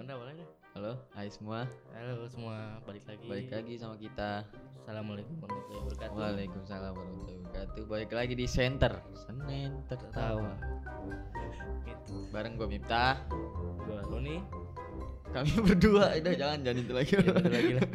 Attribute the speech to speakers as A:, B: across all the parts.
A: Mana awalnya?
B: Halo, hai semua.
A: Halo semua, balik lagi
B: sama kita.
A: Assalamualaikum warahmatullahi wabarakatuh.
B: Waalaikumsalam warahmatullahi wabarakatuh. Balik lagi di Center Senin Tertawa.
A: Gitu.
B: Bareng gue Miftah.
A: Gua Roni.
B: Kami berdua. Jangan itu lagi.
A: Ya, betul lagi lah.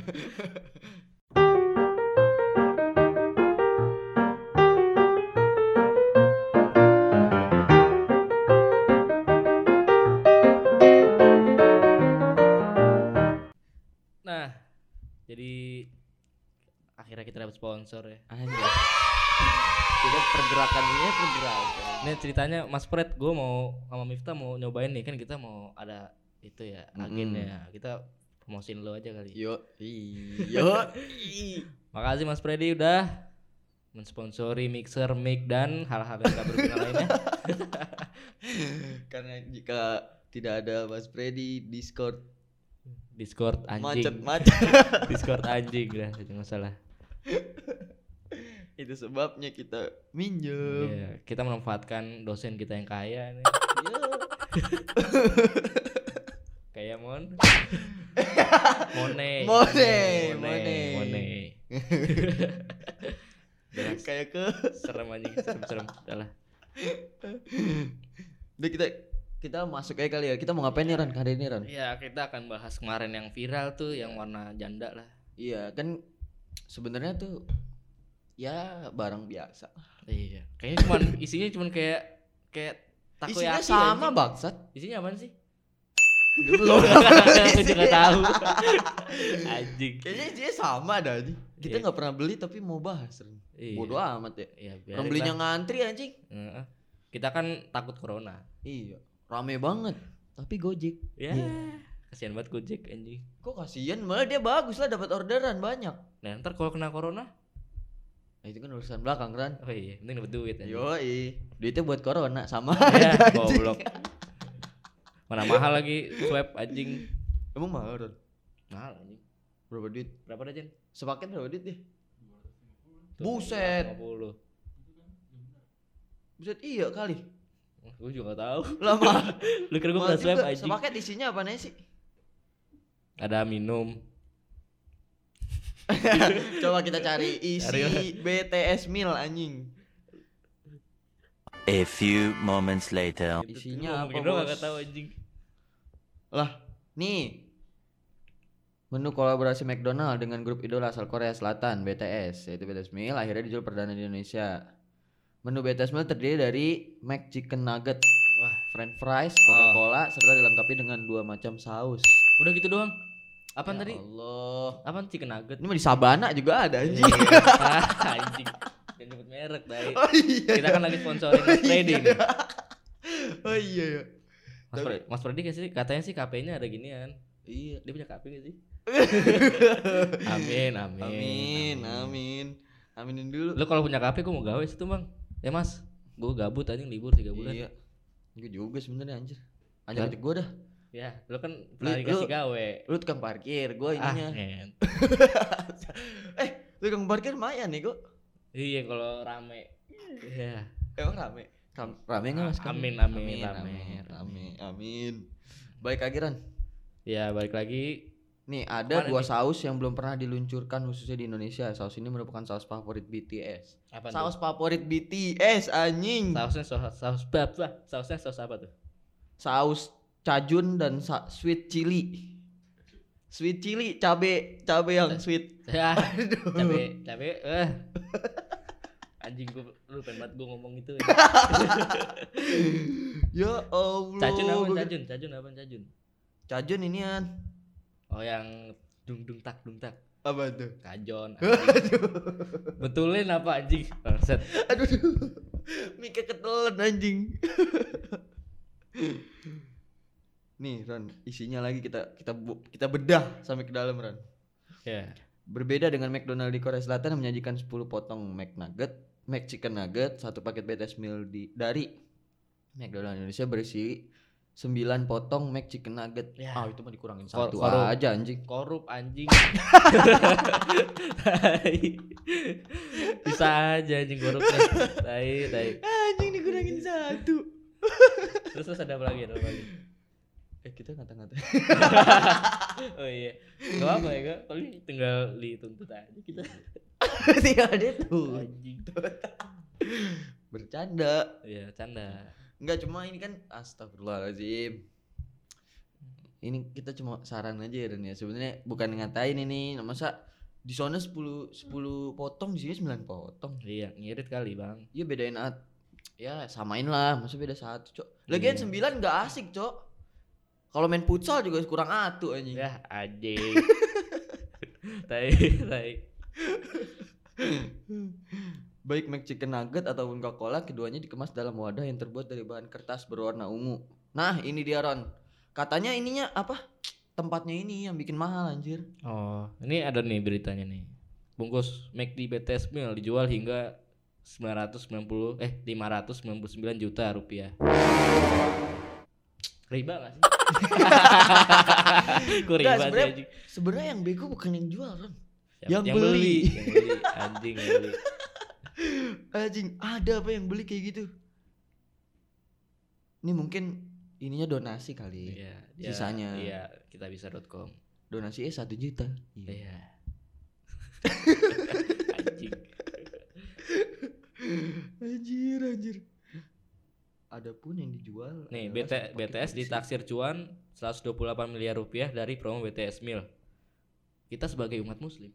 A: Nah, jadi akhirnya kita dapat sponsor ya.
B: Anjir. Tidak pergerakannya.
A: Ini ceritanya Mas Fred, gue mau sama Miftah mau nyobain nih, kan kita mau ada itu ya agennya. Kita promosiin lo aja kali.
B: Yo.
A: Makasih Mas Freddy udah mensponsori mixer, mic dan hal-hal yang tak berguna lainnya.
B: Karena jika tidak ada Mas Freddy, Discord
A: anjing.
B: macet.
A: Discord anjing lah, jangan salah.
B: Itu sebabnya kita minjem.
A: Iya, kita memanfaatkan dosen kita yang kaya nih. Kayak Mone.
B: Kayak ke
A: Serem anjing, serem. Udah lah.
B: Udah kita masuk aja kali ya. Kita mau ngapain nih Ran? Hari ini Ran?
A: Iya, kita akan bahas kemarin yang viral tuh yang warna janda lah.
B: Iya, kan sebenarnya tuh ya barang biasa.
A: Iya. Kayaknya isinya cuman kayak takoyaki.
B: Isinya sama bangsat.
A: Isinya apaan sih?
B: Belum.
A: Aku juga tahu. Anjing.
B: Kayaknya isinya sama dah. Kita nggak pernah beli tapi mau bahas.
A: Iya.
B: Bodoh amat ya.
A: Iya,
B: Orang belinya ngantri anjing.
A: Kita kan takut corona.
B: Iya. Rame banget. Tapi Gojek.
A: Ya. Kasihan banget Gojek anjing.
B: Kok kasihan? Malah dia bagus lah, dapat orderan banyak.
A: Nah, ntar kalau kena corona?
B: Nah, itu kan urusan belakang Ran.
A: Oh iya, penting dapat duit anjing.
B: Yoi. Duitnya buat corona sama
A: Ya,
B: aja.
A: goblok. Mana mahal lagi swab anjing.
B: Emang mahal Ran?
A: Mahal anjing.
B: Berapa duit?
A: Berapa dah, Jen?
B: Sepaket berapa duit deh?
A: Tuh,
B: Buset.
A: 50.
B: Buset iya kali.
A: Gue juga gak tahu.
B: Lama.
A: Lu kira gue pernah swab anjing?
B: Sepaket isinya apa nih sih?
A: Ada minum.
B: Coba kita cari isi BTS meal anjing.
C: A few moments later.
B: Isinya apa
A: Mungkin
B: bos?
A: lo gak tahu anjing.
B: Lah, nih. Menu kolaborasi McDonald dengan grup idola asal Korea Selatan BTS, yaitu BTS Meal, akhirnya dijual perdana di Indonesia. Menu BTS Meal terdiri dari McChicken Nugget,
A: Wah,
B: French fries, Coca-Cola, serta dilengkapi dengan 2 macam saus.
A: udah gitu doang. Apaan
B: Ya
A: tadi?
B: Allah.
A: Apaan chicken nugget?
B: Ini mah di Sabana juga ada anjing.
A: Anjing. Jangan nyebut merek, Dai.
B: Oh iya.
A: Kita kan lagi sponsorin Mas Freddy nih.
B: Oh iya ya.
A: Mas Freddy katanya sih KP-nya ada ginian.
B: Iya.
A: Dia punya KP gak sih? Amin.
B: Aminin dulu.
A: Lu kalau punya KP gue mau gawe situ, Bang. Ya, Mas. Gue gabut anjing libur 3 bulan.
B: Iya. Gue juga sebenarnya anjir. Ajak gue dah.
A: Ya, lu kan pernah dikasih gawe.
B: Lu tukang parkir, gue ininya. Lu tukang parkir lumayan nih kok.
A: Iya, kalau rame. Iya.
B: Emang rame? Rame enggak Mas?
A: Amin.
B: Baik lagi Ran.
A: Ya, balik lagi.
B: Nih ada 2 saus yang belum pernah diluncurkan khususnya di Indonesia. Saus ini merupakan saus favorit BTS.
A: Apa
B: saus
A: tuh?
B: favorit BTS anjing.
A: Sausnya sausnya saus apa tuh?
B: Saus cajun dan sweet chili. Sweet chili, cabe yang sweet.
A: Ya. Cabe. Anjing lu pengen banget gue ngomong itu.
B: Ya Allah.
A: Cajun apa?
B: Cajun inian.
A: Oh, yang dung tak.
B: Apa tuh?
A: Kajon. Betulin apa anjing? Set.
B: Aduh. Mika ketelan anjing. Nih Ran, isinya lagi kita bedah sampai ke dalam Ran.
A: Ya.
B: Berbeda dengan McDonald di Korea Selatan yang menyajikan 10 potong McChicken Nugget, 1 paket BTS meal dari McDonald Indonesia berisi 9 potong McChicken Nugget.
A: Ya.
B: Itu mah dikurangin 1 aja anjing.
A: Korup anjing. Bisa aja anjing korupnya. Tai.
B: Anjing dikurangin 1.
A: Terus ada apa lagi?
B: Kita ngata-ngata.
A: Oh iya. Enggak apa ya, Kak. Paling tinggal dituntut aja kita.
B: Tinggal dia tuh.
A: Anjing.
B: Bercanda.
A: Iya, canda.
B: Enggak, cuma ini kan astagfirullahaladzim. Ini kita cuma saran aja ya Ren ya. Sebenarnya bukan ngatain ini. Masa di sana 10 potong, di sini 9 potong.
A: Iya, ngirit kali, Bang.
B: Iya bedain ya samain lah, masa beda 1, Cok. Lagian 9 enggak asik, Cok. Kalau main futsal juga kurang atu anjing.
A: Ya, anjing. Tai.
B: Baik McChicken nugget ataupun Coca-Cola, keduanya dikemas dalam wadah yang terbuat dari bahan kertas berwarna ungu. Nah, ini dia Ron. Katanya ininya apa? Tempatnya ini yang bikin mahal anjir.
A: Oh, ini ada nih beritanya nih. Bungkus McD BTS meal dijual hingga 599 juta rupiah. Riba gak sih? Kok riba sih anjing?
B: Sebenarnya yang bego bukan yang jual Ron.
A: Yang beli. Anjing yang beli.
B: Anjing, ada apa yang beli kayak gitu? Ini mungkin ininya donasi kali.
A: Iya,
B: sisanya.
A: Iya, kitabisa.com.
B: Donasi 1 juta.
A: Iya.
B: Anjir. Ada pun yang dijual.
A: Nih, BTS ditaksir cuan 128 miliar rupiah dari promo BTS Meal. Kita sebagai umat muslim,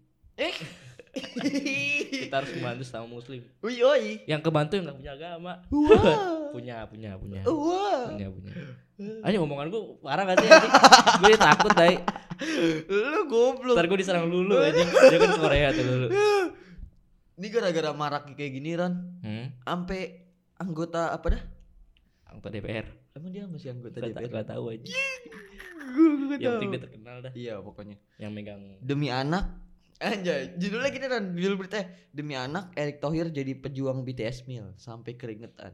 A: kita harus membantu sama muslim.
B: Oi.
A: Yang kebantu yang gak punya agama.
B: Wah.
A: punya.
B: Wah.
A: Ayo omongan gue parah gak sih anjing? Gue takut dai.
B: Lu goblok.
A: Ntar gue diserang Lulu anjing. Dia kan Korea tuh Lulu.
B: Ini gara-gara marak kayak gini Ran. Sampai anggota apa dah?
A: Anggota DPR.
B: Emang dia masih anggota DPR?
A: Gak tahu aja.
B: Gue
A: Yang penting dia terkenal dah.
B: Iya pokoknya.
A: Yang megang.
B: Demi anak. Anjay, judulnya gini Ran, judul berita. Demi anak Erick Thohir jadi pejuang BTS Meal sampai keringetan.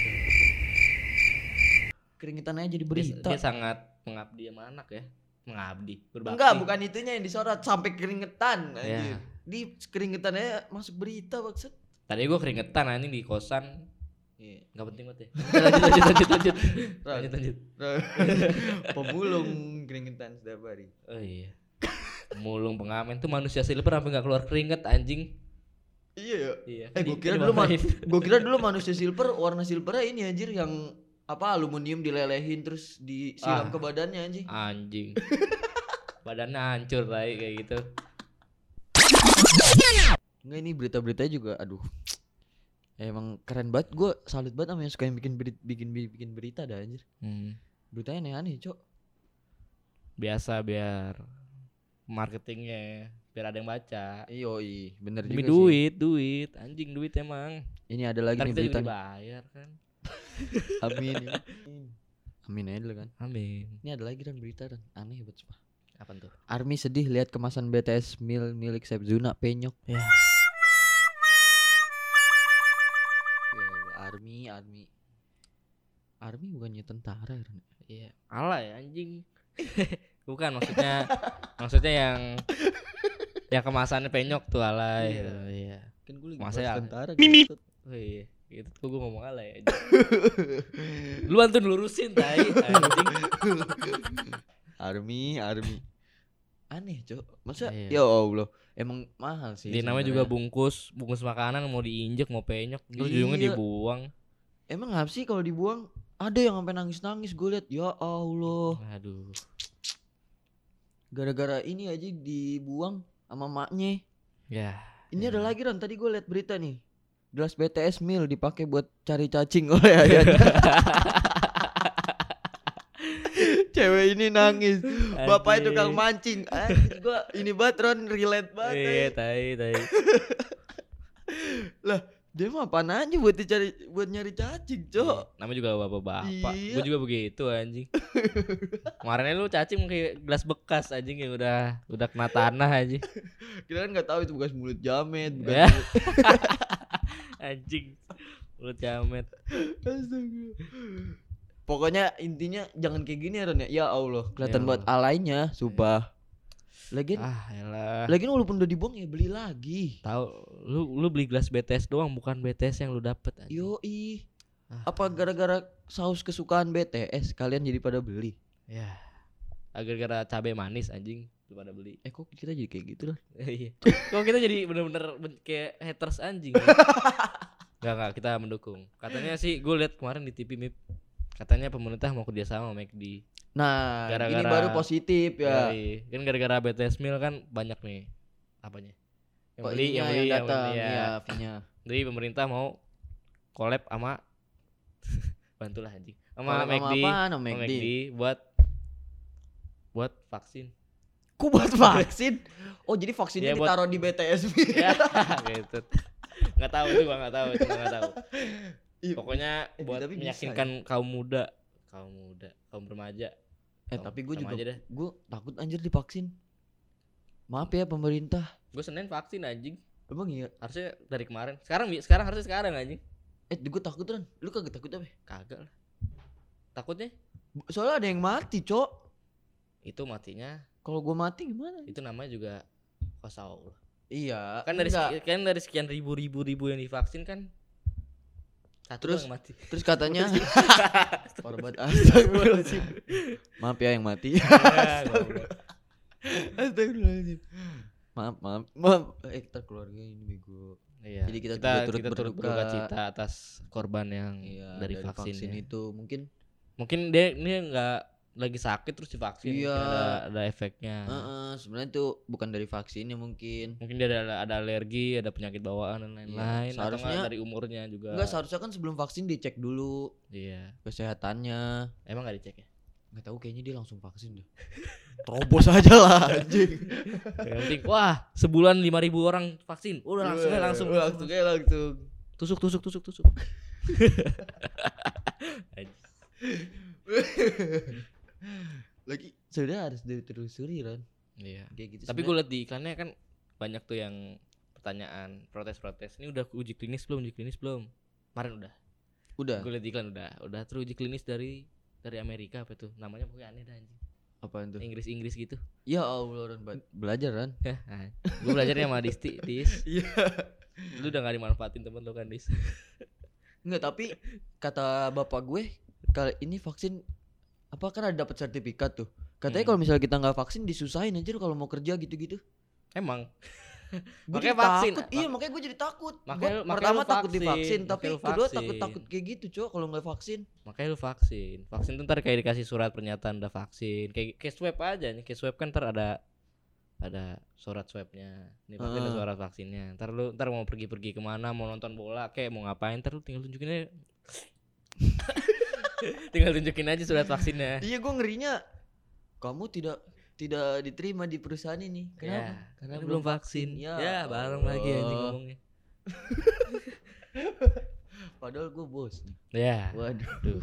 B: Keringetan aja jadi berita.
A: Dia sangat mengabdi sama anak ya. Mengabdi, berbakti.
B: Enggak, bukan itunya yang disorot, sampai keringetan anjir.
A: Ya.
B: Di keringetannya masuk berita maksud.
A: Tadi gue keringetan anjing di kosan.
B: Iya.
A: Gak penting banget ya. Lanjut.
B: Pemulung keringetan setiap hari.
A: Oh iya. Mulung pengamen tuh manusia silver sampai gak keluar keringet anjing.
B: Iya.
A: Iya.
B: Gue kira dulu manusia silver warna silvernya ini anjir yang apa aluminium dilelehin terus disiram ke badannya anjing.
A: Anjing. Badannya hancur kayak gitu.
B: Enggak, ini berita-beritanya juga aduh. Emang keren banget, gue salut banget sama yang suka yang bikin berita dah anjir. Beritanya aneh-aneh, Cok.
A: Biasa biar marketingnya biar ada yang baca.
B: Iya, bener
A: Demi
B: juga sih.
A: duit, anjing duit emang.
B: Ini ada lagi
A: Ntar
B: nih
A: kita
B: berita.
A: juga dibayar kan.
B: Amin aja dulu kan.
A: Amin.
B: Ini ada lagi kan berita kan aneh banget sumpah.
A: Apa tuh?
B: Army sedih lihat kemasan BTS Meal milik Sepzuna penyok.
A: Ya.
B: Army bukannya tentara kan?
A: Iya. Alay anjing. Bukan maksudnya yang kemasannya penyok tuh alay. Iya.
B: Kan gue lagi
A: Masa
B: bahas
A: ya?
B: tentara.
A: Oh iya. Gitu tuh gue ngomong alay aja. Lu antun lurusin tai anjing.
B: Army. Aneh, Cok. Masa
A: Iya.
B: ya Allah, emang mahal sih.
A: Dia namanya juga bungkus makanan mau diinjek mau penyok terus ujungnya dibuang.
B: Emang ngapa sih kalau dibuang? Ada yang sampai nangis gue lihat. Ya Allah.
A: Aduh.
B: Gara-gara ini aja dibuang sama maknya.
A: Ya.
B: Ini ada lagi Ron, tadi gue lihat berita nih. Gelas BTS Meal dipakai buat cari cacing oleh ayahnya. Cewek ini nangis. Bapaknya tukang mancing. Gua ini banget Ron, relate banget.
A: Iya, tai.
B: Lah, dia mah apaan aja buat nyari cacing, Cok.
A: Namanya juga bapak-bapak.
B: Iya.
A: Gue juga begitu anjing. Kemarin lu cacing kayak gelas bekas anjing yang udah kena tanah anjing.
B: Kita kan enggak tahu itu bekas mulut jamet, bukan
A: Ya.
B: mulut.
A: Anjing. Mulut jamet.
B: Astaga. Pokoknya intinya jangan kayak gini ya Ron ya. Ya Allah, kelihatan
A: Ya
B: buat alaynya, sumpah. Lagian
A: Elah.
B: Lagian walaupun udah dibuang ya beli lagi.
A: Tahu lu beli gelas BTS doang bukan BTS yang lu dapet anjing.
B: Yoi. Apa gara-gara saus kesukaan BTS kalian jadi pada beli?
A: Ya. Gara-gara cabai manis anjing lu pada beli.
B: Kok kita jadi kayak gitu lah?
A: Iya. Kok kita jadi bener-bener kayak haters anjing. Enggak, kita mendukung. Katanya sih gue lihat kemarin di TV MIP. Katanya pemerintah mau kerjasama sama McD.
B: Nah, ini
A: Gara-gara-
B: baru positif ya.
A: Yoi. Kan gara-gara BTS Meal kan banyak nih apanya?
B: Yang datang ya fee-nya.
A: Jadi pemerintah mau collab sama bantulah anjing. Sama
B: Collab sama
A: McD,
B: apaan? Sama
A: sama
B: McD.
A: McD buat vaksin.
B: Ku buat vaksin. Oh, jadi vaksinnya
A: Ya, buat-
B: ditaruh di BTS.
A: Ya, gitu. Enggak tahu itu, enggak tahu, cuma enggak tahu.
B: Iya.
A: Pokoknya buat
B: tapi bisa
A: meyakinkan kaum muda, kaum remaja.
B: Tapi gue
A: Sama
B: juga
A: aja deh.
B: gue takut anjir divaksin. Maaf ya pemerintah.
A: Gue Senin vaksin anjing.
B: Emang iya?
A: Harusnya dari kemarin. Sekarang harusnya sekarang anjing.
B: Gue takut kan. Lu kagak takut apa?
A: Kagak lah. Takutnya
B: Soalnya ada yang mati, Cok.
A: itu matinya,
B: Kalau gue mati gimana?
A: itu namanya juga Allah.
B: Iya.
A: Kan dari
B: enggak.
A: dari sekian ribu yang divaksin kan satu
B: Terus-
A: yang mati.
B: Terus katanya korban astagfirullahaladzim. Maaf ya yang mati.
A: Ya, goblok.
B: Astagfirullahaladzim. Maaf. Kita keluarga ini bego.
A: Iya.
B: Jadi kita turut
A: turut
B: berduka.
A: berduka cita atas korban yang
B: Iya,
A: dari vaksin, ya.
B: itu
A: Mungkin dia ini nggak lagi sakit terus divaksin,
B: Iya.
A: mungkin ada efeknya.
B: sebenarnya itu bukan dari vaksinnya mungkin.
A: Mungkin dia ada alergi, ada penyakit bawaan dan lain-lain. Atau
B: seharusnya-
A: nggak dari umurnya juga.
B: Enggak, seharusnya kan sebelum vaksin dicek dulu
A: Iya.
B: kesehatannya.
A: Emang nggak dicek ya?
B: Nggak tahu, kayaknya dia langsung vaksin deh. Terobos aja lah anjing.
A: Yang penting wah sebulan 5.000 orang vaksin. Udah langsung. Tusuk.
B: Lagi sudah harus ditelusuri kan.
A: Iya.
B: Kayak gitu.
A: Tapi gue liat di iklannya kan banyak tuh yang pertanyaan protes. Ini udah uji klinis belum? Kemarin udah.
B: udah.
A: Gue liat di iklan udah teruji klinis dari Amerika apa tuh? Namanya pokoknya aneh dah anjing.
B: Apaan tuh?
A: Inggris gitu.
B: Ya Allah, Ran, belajar kan.
A: Gue belajarnya sama Dis.
B: Iya.
A: Lu udah gak dimanfaatin temen lu kan Dis.
B: Enggak, tapi kata bapak gue kali ini vaksin apa kan ada dapat sertifikat tuh. Katanya kalau misalnya kita nggak vaksin disusahin aja kalau mau kerja gitu-gitu.
A: Emang.
B: Gue
A: Makanya
B: jadi
A: vaksin.
B: takut. Iya, makanya gue jadi takut.
A: Makanya-
B: Gua
A: makanya
B: pertama
A: lu
B: takut
A: vaksin.
B: divaksin, tapi
A: Makanya lu
B: kedua
A: vaksin.
B: takut kayak gitu, Cok, kalau nggak vaksin.
A: Makanya lu vaksin. Vaksin tuh ntar kayak dikasih surat pernyataan udah vaksin. Kayak swab aja nih. Kayak swab kan ntar ada surat swabnya. Nih pakai ada surat vaksinnya. Ntar mau pergi kemana, mau nonton bola, kayak mau ngapain, ntar lu tinggal tunjukin aja. Tinggal tunjukin aja surat vaksinnya.
B: Iya, gue ngerinya kamu tidak diterima di perusahaan ini. Kenapa?
A: Ya, karena belum vaksin. Ya, bareng
B: Allah.
A: lagi anjing ngomongnya.
B: Padahal gue bos.
A: Ya.
B: Waduh.
A: Duh.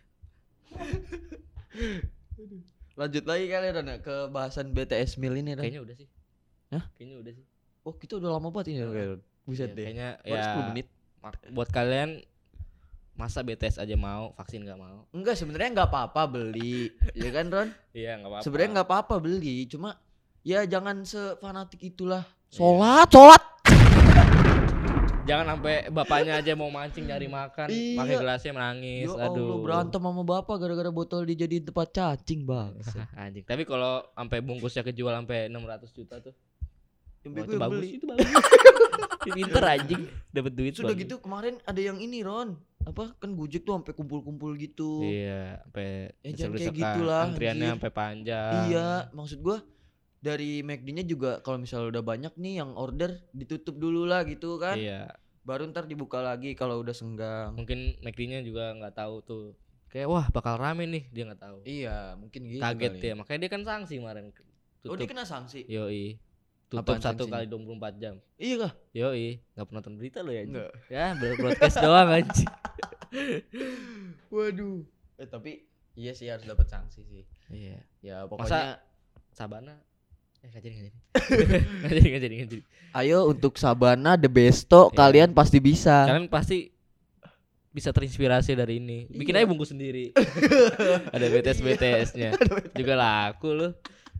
B: Lanjut lagi kali Ran ke bahasan BTS Meal ini Ran.
A: Kayaknya udah sih.
B: Hah?
A: Kayaknya udah sih.
B: Oh, kita udah lama banget ini Ran. Buset
A: Ya,
B: deh.
A: kayaknya
B: Baru
A: ya
B: 10 menit.
A: buat kalian masa BTS aja mau, vaksin gak mau?
B: Enggak, sebenarnya nggak apa-apa beli. Ya kan, Ron?
A: Iya, gak apa-apa.
B: Sebenarnya nggak apa-apa beli, cuma ya jangan sefanatik itulah.
A: Iya.
B: Sholat.
A: Jangan sampai bapaknya aja mau mancing nyari makan,
B: Iya.
A: pakai gelasnya menangis.
B: Ya Allah,
A: Aduh.
B: berantem sama bapak gara-gara botol dijadiin tempat cacing, Bang.
A: Anjing. Tapi kalau sampai bungkusnya kejual sampai 600 juta tuh.
B: Yang
A: Wah,
B: bego
A: itu
B: yang
A: bagus,
B: beli.
A: itu bagus. Pinter anjing, dapat duit.
B: Sudah
A: bagus.
B: gitu kemarin ada yang ini, Ron. Apa kan Gojek tuh sampai kumpul-kumpul gitu.
A: Iya, sampai
B: Ya, jangan kayak
A: desek-desekan.
B: gitulah,
A: Antriannya
B: anjir.
A: sampai panjang.
B: Iya, maksud gua dari McD-nya juga kalau misalnya udah banyak nih yang order ditutup dulu lah gitu kan.
A: Iya.
B: Baru ntar dibuka lagi kalau udah senggang.
A: Mungkin McD-nya juga nggak tahu tuh. Kayak wah bakal rame nih, dia nggak tahu.
B: Iya, mungkin gitu.
A: Kaget
B: kali.
A: ya, makanya dia kan sanksi kemarin.
B: Oh, dia kena sanksi.
A: Yoi. Tutup
B: Apaan
A: 1
B: sanksinya?
A: kali 24 jam.
B: Iya kah?
A: Yoi, nggak pernah nonton berita lo ya? anjing?
B: Enggak.
A: Ya, broadcast doang anjing.
B: Waduh. Tapi iya sih harus dapat sanksi sih.
A: Iya.
B: Ya pokoknya
A: Sabana nggak jadi. Nggak jadi.
B: ayo untuk Sabana The Besto
A: Iya.
B: kalian pasti bisa.
A: Kalian pasti bisa terinspirasi dari ini. Bikin
B: Iya.
A: aja bungkus sendiri. Ada BTS-nya. Juga laku loh.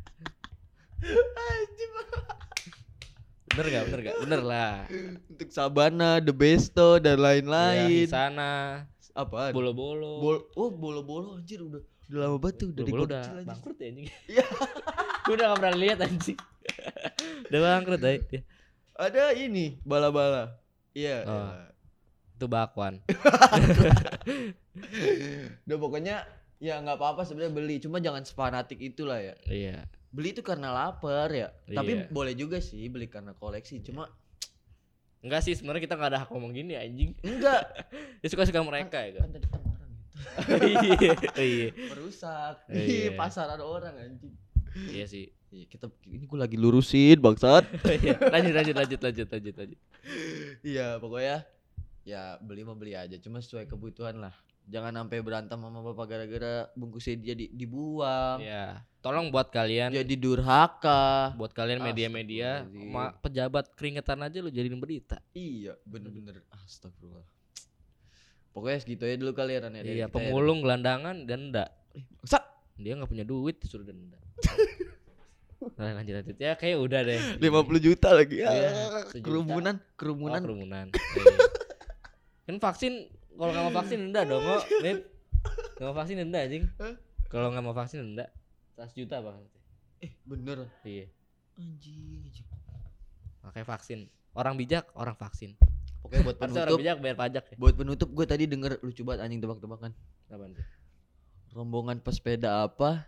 A: Bener gak? Bener lah.
B: Untuk Sabana, The Besto dan
A: Di
B: lain-lain.
A: sana
B: Apaan?
A: bolo-bolo.
B: Bolo-bolo anjir udah Udah lama banget tuh, dari
A: Bulu
B: gua
A: udah
B: kecil aja.
A: bangkrut ya anjing.
B: Iya.
A: Gua udah gak pernah lihat anjing. Udah bangkrut ya.
B: Ada ini bala-bala. Iya.
A: Oh.
B: Iya.
A: Itu bakwan.
B: Udah pokoknya ya nggak apa-apa sebenarnya beli, cuma jangan fanatik itulah ya.
A: Iya.
B: Beli itu karena lapar ya. Tapi
A: Iya.
B: boleh juga sih beli karena koleksi. Cuma
A: Enggak sih, sebenarnya kita enggak ada hak ngomong gini anjing.
B: enggak.
A: Ya suka-suka mereka ya kan.
B: Kan tadi kita marah gitu.
A: Iya. Iya.
B: Merusak
A: Iya.
B: di pasaran orang anjing.
A: Iya sih.
B: Iya, ini gue lagi lurusin bangsat.
A: Iya. Lanjut.
B: Iya, pokoknya ya beli mah beli aja, cuma sesuai kebutuhan lah. Jangan sampai berantem sama bapak gara-gara bungkusnya dia dibuang.
A: Iya. Tolong buat kalian,
B: Jadi durhaka.
A: buat kalian media-media,
B: Astagfirullahaladzim.
A: pejabat keringetan aja lu jadiin berita.
B: Iya, bener-bener astagfirullah. Pokoknya segitu aja dulu kali ya Ran ya, dari
A: Iya,
B: kita ya, Ran.
A: pemulung, gelandangan, denda.
B: Bangsat.
A: Dia nggak punya duit disuruh denda. Nah, lanjut ya, kayak udah deh.
B: 50 juta lagi ya.
A: Iya, sejuta.
B: Kerumunan.
A: Oh, kerumunan. Iya. Kan vaksin, kalau nggak mau vaksin denda dong, kok. Nip. Nggak mau vaksin denda anjing. Kalau nggak mau vaksin denda 100 juta bang.
B: Bener.
A: Iya.
B: Anjing.
A: Makanya vaksin. Orang bijak, orang vaksin.
B: Pokoknya buat
A: Harusnya orang
B: penutup,
A: bijak bayar pajak ya.
B: buat penutup gue tadi denger lucu banget anjing tebak-tebakan.
A: Apaan tuh?
B: Rombongan pesepeda apa?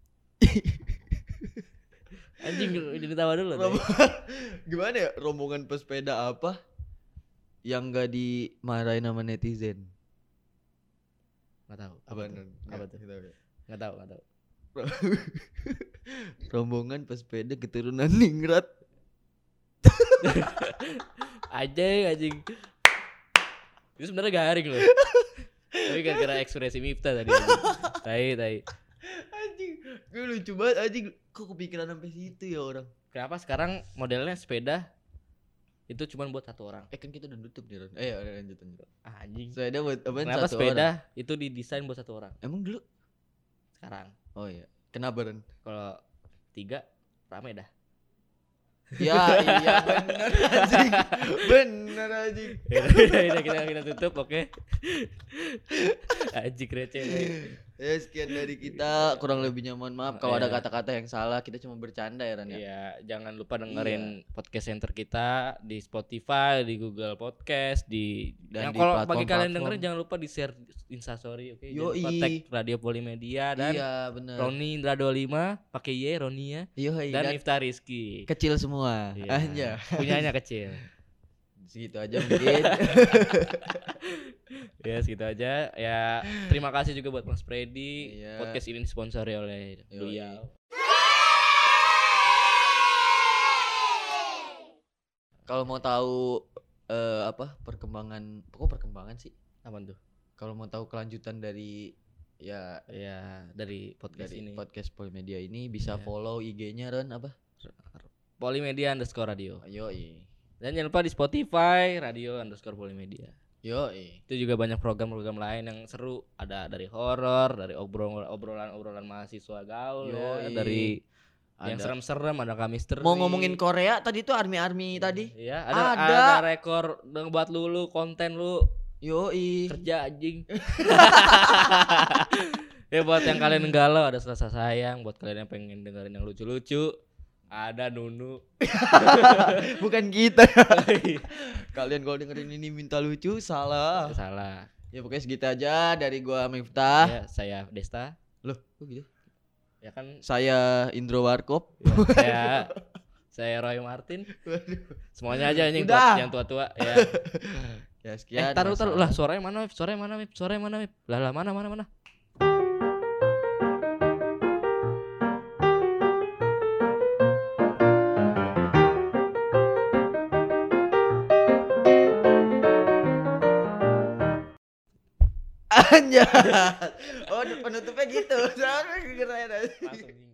A: Anjing jadi tawa dulu. Deh.
B: Gimana ya? Rombongan pesepeda apa yang gak dimarahin sama netizen?
A: Nggak tahu.
B: Apa
A: tuh? Apa tuh? Nggak tahu.
B: Rombongan pesepeda keturunan ningrat.
A: Anjing. Itu sebenarnya garing loh. Tapi gara-gara ekspresi Miftah tadi. Tai.
B: Anjing, gue lucu banget anjing. Kok kepikiran sampai situ ya orang?
A: Kenapa sekarang modelnya sepeda itu cuma buat satu orang?
B: Kan kita udah nutup nih Ron. Lanjut.
A: Anjing.
B: Sepeda buat apaan?
A: Kenapa
B: Satu
A: sepeda
B: orang?
A: itu didesain buat satu orang?
B: Emang dulu?
A: Sekarang
B: Oh iya. Kenapa Ron?
A: kalau 3 rame dah.
B: Ya iya bener anjing. Bener anjing.
A: Udah, kita tutup, oke. Anjing receh.
B: Ya sekian dari kita, kurang lebihnya mohon maaf kalau ada
A: Iya.
B: kata-kata yang salah, kita cuma bercanda ya Ran ya.
A: Iya, jangan lupa dengerin podcast center kita di Spotify, di Google Podcast,
B: Dan
A: yang
B: di
A: kalau bagi
B: platform-platform.
A: kalian dengerin jangan lupa di share Instastory, oke? Jangan lupa
B: Yoi.
A: tag Radio Polimedia dan
B: Iya bener.
A: Roni Indra 25 pakai Y Roni ya.
B: Yoi,
A: Dan
B: dan
A: Miftah Rizky.
B: kecil semua.
A: Iya,
B: Anja.
A: punyanya kecil.
B: Segitu aja mungkin.
A: Ya segitu aja. Ya terima kasih juga buat Mas Freddy.
B: Iya.
A: Podcast ini disponsori oleh
B: Yoi.
A: beliau.
B: Kalau mau tahu perkembangan, pokok perkembangan sih.
A: Apaan tuh?
B: Kalau mau tahu kelanjutan dari ya
A: Ya dari podcast
B: dari
A: ini.
B: podcast Polimedia ini bisa
A: Iya.
B: follow IG-nya Ron apa?
A: Polimedia_radio.
B: Yoi.
A: Dan jangan lupa di Spotify radio_polimedia.
B: Yoi.
A: Itu juga banyak program-program lain yang seru. Ada dari horor, dari obrolan mahasiswa gaul, ya,
B: Yoi.
A: dari yang
B: Ada.
A: serem-serem, ada misteri.
B: Mau ngomongin Korea tadi tuh army tadi.
A: Iya,
B: Ada.
A: ada rekor buat lu konten lu
B: Yoi.
A: kerja anjing. Ya buat yang kalian galau ada Selasa Sayang, buat kalian yang pengen dengerin yang lucu-lucu ada Nunu.
B: Bukan kita. Kalian kalau dengerin ini minta lucu salah.
A: Salah.
B: Ya pokoknya segitu aja dari gua Miftah.
A: Ya, saya Desta.
B: Loh, kok gitu?
A: Ya kan
B: Saya Indro Warkop.
A: ya, saya Roy Martin. Semuanya aja anjing
B: Udah.
A: buat yang tua-tua ya.
B: Ya sekian.
A: Taruh
B: masalah.
A: lah, suaranya mana, Mip? Suaranya mana, Mip? Lah mana.
B: Anjay. Oh, penutupnya gitu. Soalnya keren aja.
A: Langsung